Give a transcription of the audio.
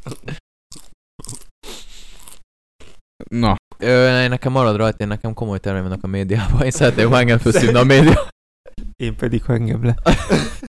Na. Nekem marad rajta, nekem komoly terveim vannak a médiában. Én szeretném, ha engem felszívna a média. Én pedig, ha engem le.